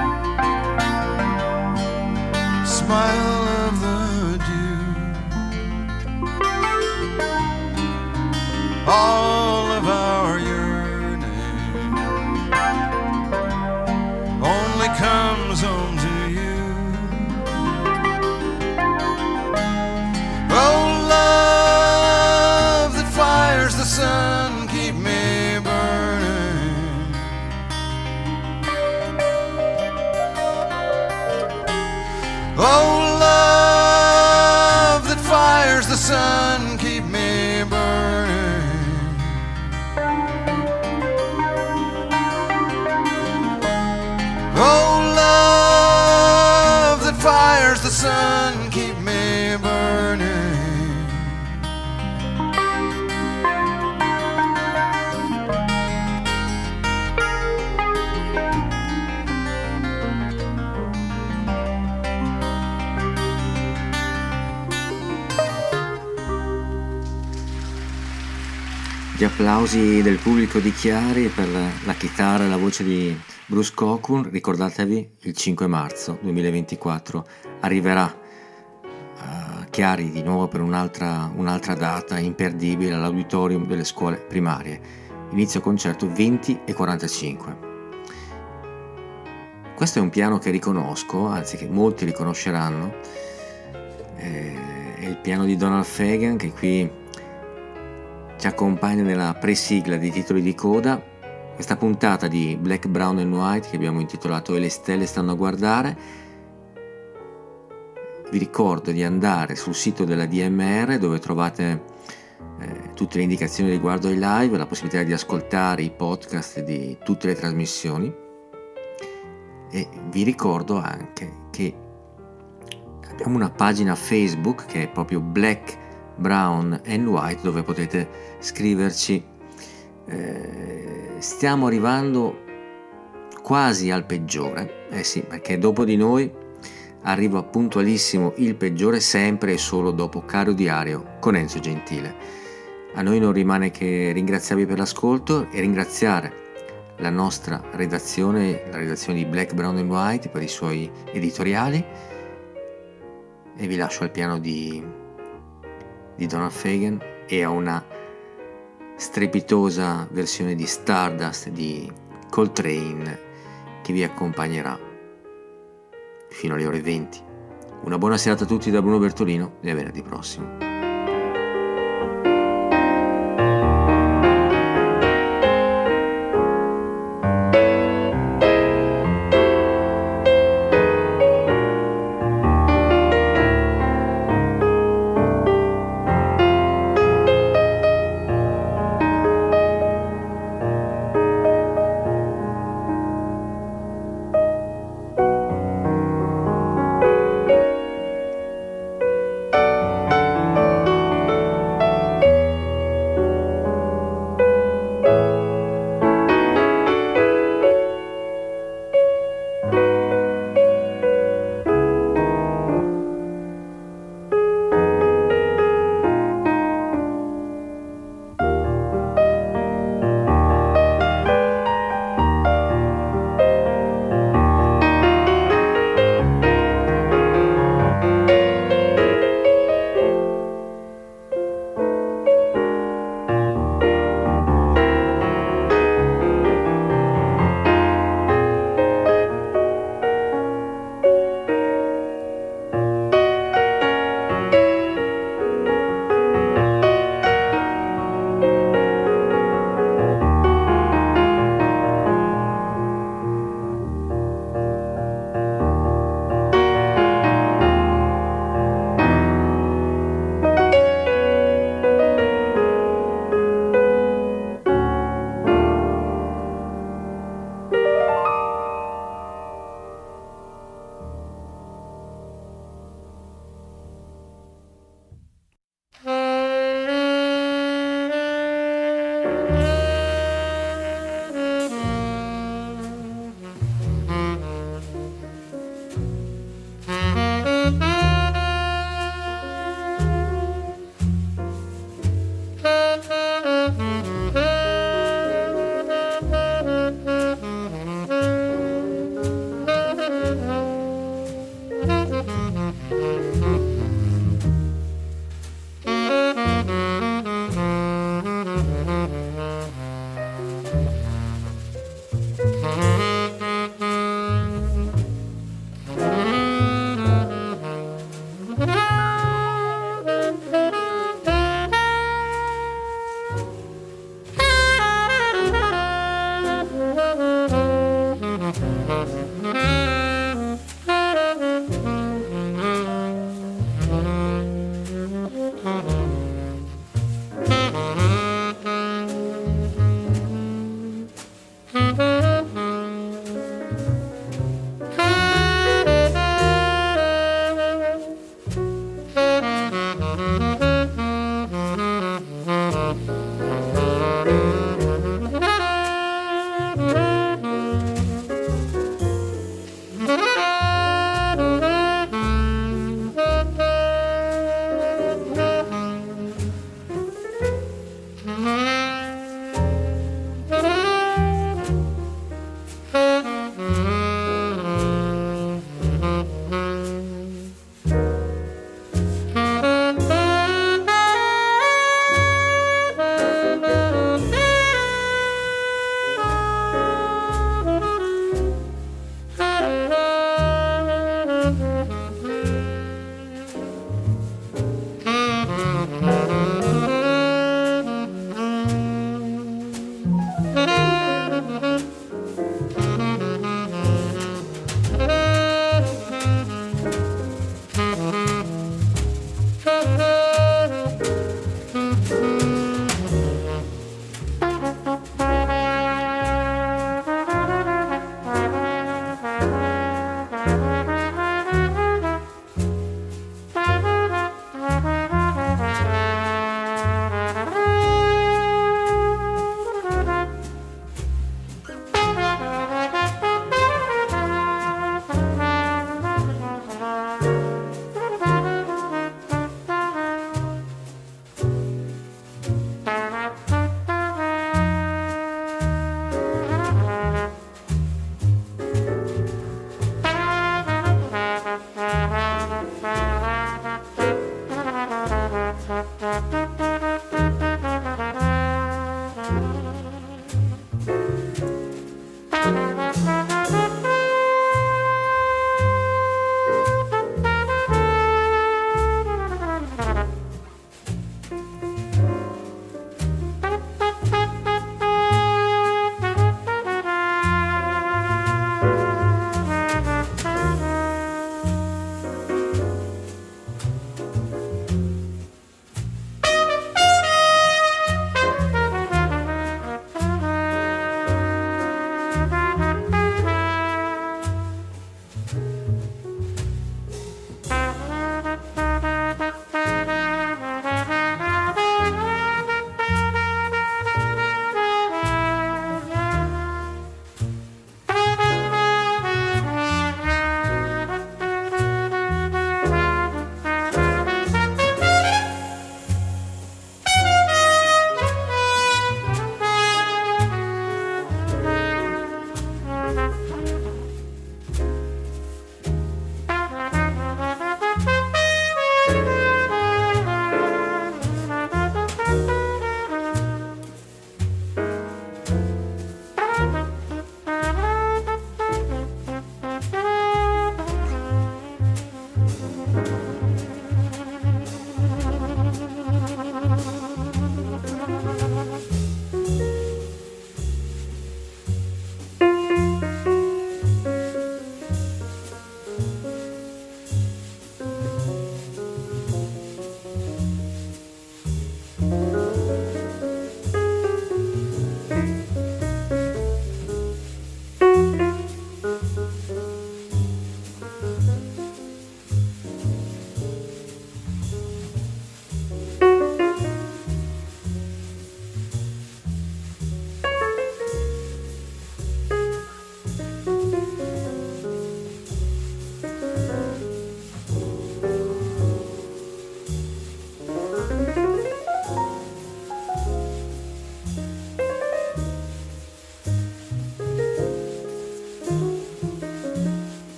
smile of the all of our yearning only comes home to you. Oh, love that fires the sun, keep me burning. Oh, love that fires the sun, keep me burning. Oh, love that fires the sun, keep me burning. Gli applausi del pubblico di Chiari per la, la chitarra e la voce di Bruce Cockburn. Ricordatevi, il cinque marzo duemilaventiquattro arriverà a Chiari di nuovo per un'altra, un'altra data imperdibile all'auditorium delle scuole primarie. Inizio concerto venti e quarantacinque. Questo è un piano che riconosco, anzi che molti riconosceranno, è il piano di Donald Fagen, che qui ci accompagna nella presigla dei titoli di coda. Questa puntata di Black, Brown and White che abbiamo intitolato E le stelle stanno a guardare. Vi ricordo di andare sul sito della D M R dove trovate eh, tutte le indicazioni riguardo ai live, la possibilità di ascoltare i podcast di tutte le trasmissioni, e vi ricordo anche che abbiamo una pagina Facebook che è proprio Black, Brown and White, dove potete scriverci eh, stiamo arrivando quasi al peggiore, eh sì, perché dopo di noi arriva puntualissimo il peggiore, sempre e solo dopo Caro Diario con Enzo Gentile. A noi non rimane che ringraziarvi per l'ascolto e ringraziare la nostra redazione, la redazione di Black, Brown and White per i suoi editoriali, e vi lascio al piano di, di Donald Fagen e a una strepitosa versione di Stardust di Coltrane che vi accompagnerà fino alle ore venti. Una buona serata a tutti da Bruno Bertolino e a venerdì prossimo.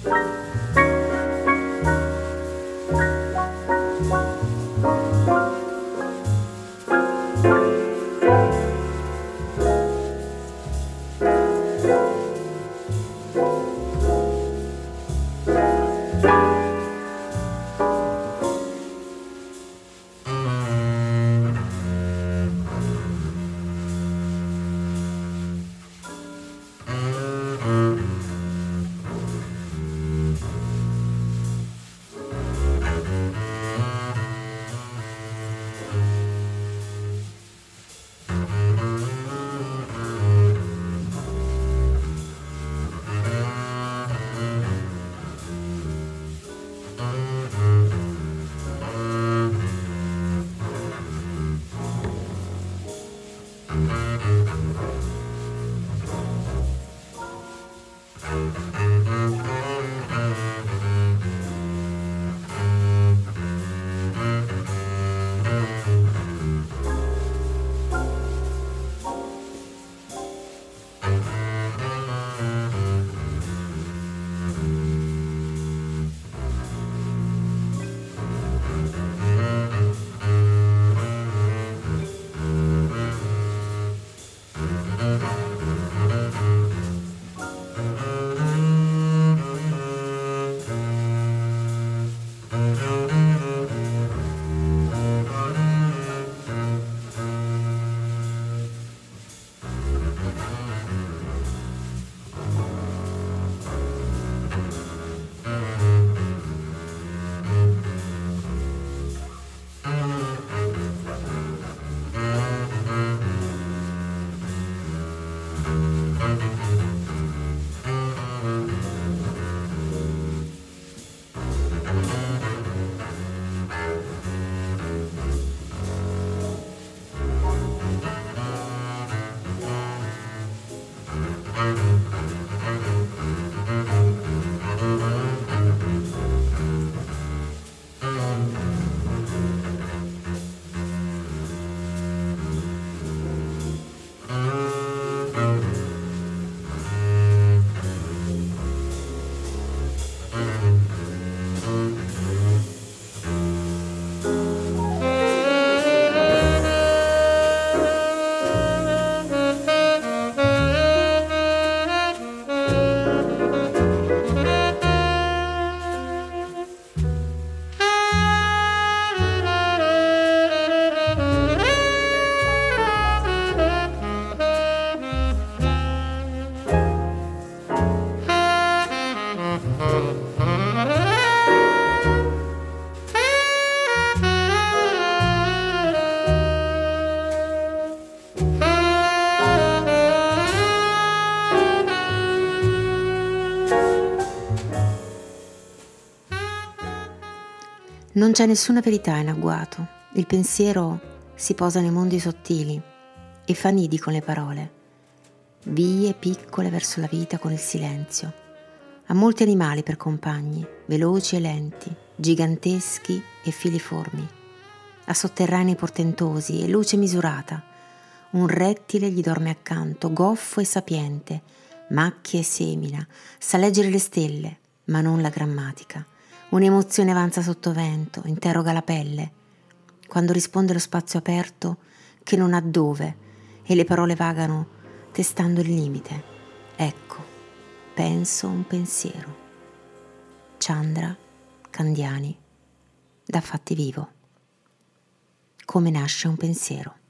Non c'è nessuna verità in agguato, il pensiero si posa nei mondi sottili e fa nidi con le parole, vie piccole verso la vita con il silenzio. Ha molti animali per compagni, veloci e lenti, giganteschi e filiformi. Ha sotterranei portentosi e luce misurata. Un rettile gli dorme accanto, goffo e sapiente, macchia e semina, sa leggere le stelle, ma non la grammatica. Un'emozione avanza sottovento, interroga la pelle, quando risponde lo spazio aperto che non ha dove e le parole vagano testando il limite. Ecco, penso un pensiero. Chandra Candiani, da Fatti Vivo. Come nasce un pensiero.